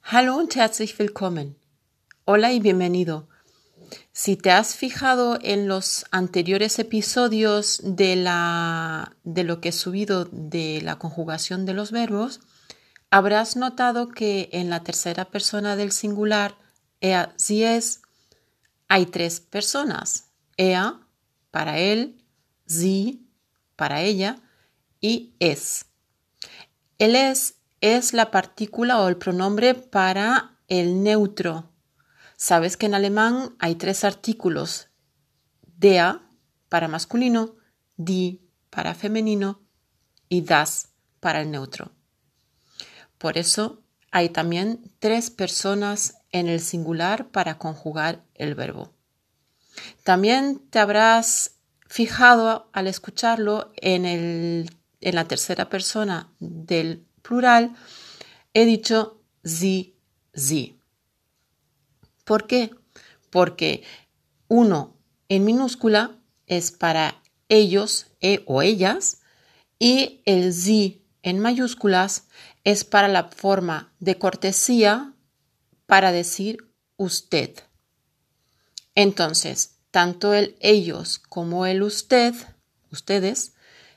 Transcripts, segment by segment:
Hallo und herzlich willkommen. Hola y bienvenido. Si te has fijado en los anteriores episodios de lo que he subido de la conjugación de los verbos, habrás notado que en la tercera persona del singular, er, sie, es, hay tres personas. Er, para él, sie, para ella, y es. El es la partícula o el pronombre para el neutro. Sabes que en alemán hay tres artículos: der para masculino, die para femenino y das para el neutro. Por eso hay también tres personas en el singular para conjugar el verbo. También te habrás fijado al escucharlo en la tercera persona del plural, he dicho sie, sie. ¿Por qué? Porque uno en minúscula es para ellos o ellas y el sie en mayúsculas es para la forma de cortesía para decir usted. Entonces, tanto el ellos como el usted, ustedes,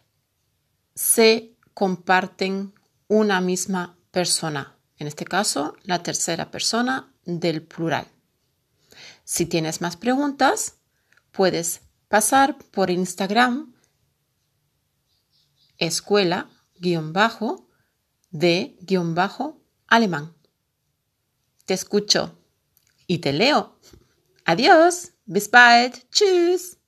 se comparten una misma persona, en este caso, la tercera persona del plural. Si tienes más preguntas, puedes pasar por Instagram, escuela_de_alemán. Te escucho y te leo. Adiós, bis bald, tschüss.